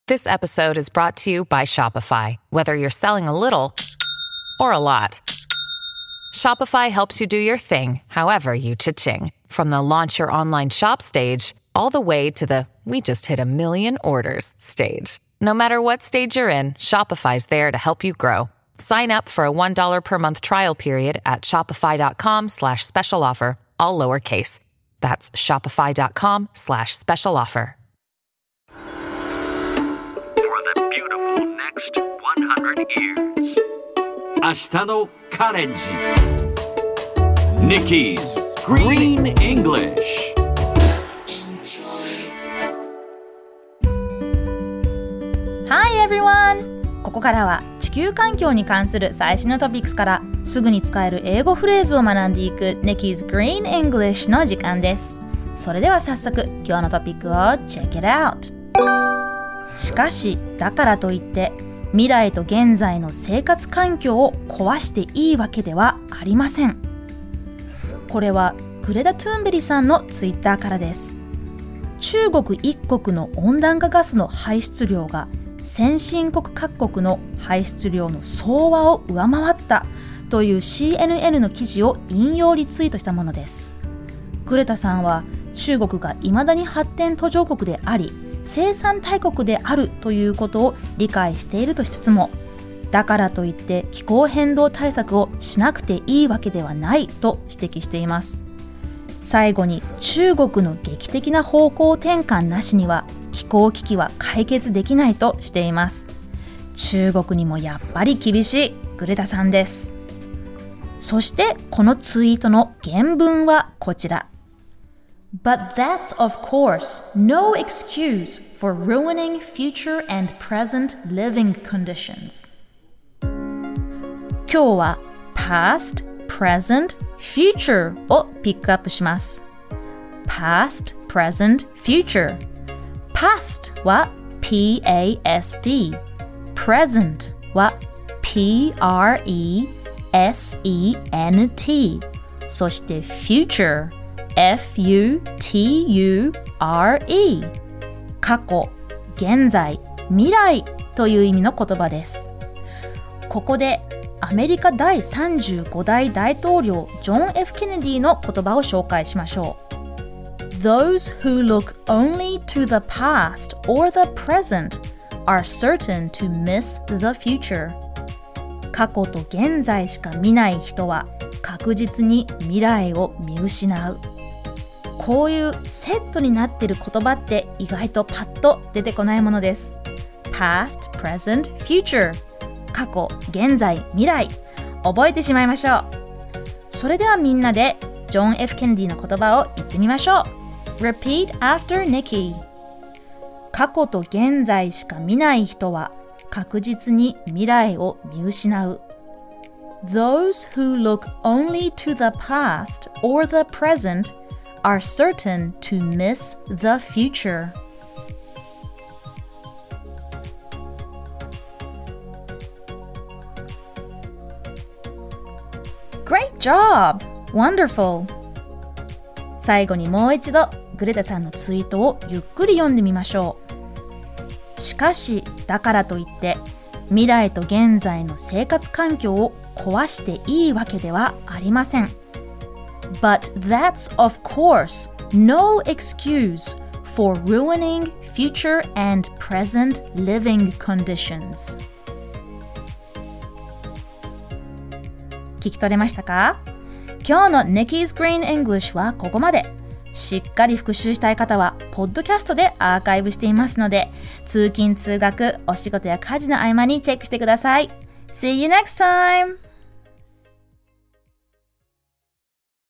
This episode is brought to you by Shopify. Whether you're selling a little or a lot, Shopify helps you do your thing, however you cha-ching. From the launch your online shop stage, all the way to the we just hit 1 million orders stage. No matter what stage you're in, Shopify's there to help you grow. Sign up for a $1 per month trial period at shopify.com/special offer, all lowercase. That's shopify.com/special offer. For the beautiful next 100 years. 明日のカレンジ Nikki's Green English。 Hi everyone! ここからは地球環境に関する最新のトピックスからすぐに使える英語フレーズを学んでいく Nikki's Green English の時間です。それでは早速今日のトピックを Check it out! しかしだからといって未来と現在の生活環境を壊していいわけではありません。これはグレタ・トゥーンベリさんのツイッターからです。中国一国の温暖化ガスの排出量が先進国各国の排出量の総和を上回ったという CNN の記事を引用リツイートしたものです。グレタさんは中国が未だに発展途上国であり生産大国であるということを理解しているとしつつも、だからといって気候変動対策をしなくていいわけではないと指摘しています。最後に中国の劇的な方向転換なしには気候危機は解決できないとしています。中国にもやっぱり厳しいグレタさんです。そしてこのツイートの原文はこちら。But that's of course no excuse for ruining future and present living conditions. 今日は past, present, future をピックアップします。past, present, future. past は P-A-S-T. present は P-R-E-S-E-N-T. そして future F-U-T-U-R-E 過去、現在、未来という意味の言葉です。ここでアメリカ第35代大統領ジョン・ F ・ケネディの言葉を紹介しましょう。Those who look only to the past or the present are certain to miss the future. 過去と現在しか見ない人は確実に未来を見失う。こういうセットになっている言葉って意外とパッと出てこないものです。Past, present, future 過去、現在、未来覚えてしまいましょう。それではみんなでジョン・ F ・ケネディの言葉を言ってみましょう。Repeat after Nikki. 過去と現在しか見ない人は確実に未来を見失う。Those who look only to the past or the present are certain to miss the future. Great job! Wonderful! 最後にもう一度グレタさんのツイートをゆっくり読んでみましょう。しかし、だからといって未来と現在の生活環境を壊していいわけではありません。But that's of course no excuse for ruining future and present living conditions. 聞き取れましたか？今日の Nikki's Green English はここまで。しっかり復習したい方はポッドキャストでアーカイブしていますので、通勤通学、お仕事や家事の合間にチェックしてください。See you next time!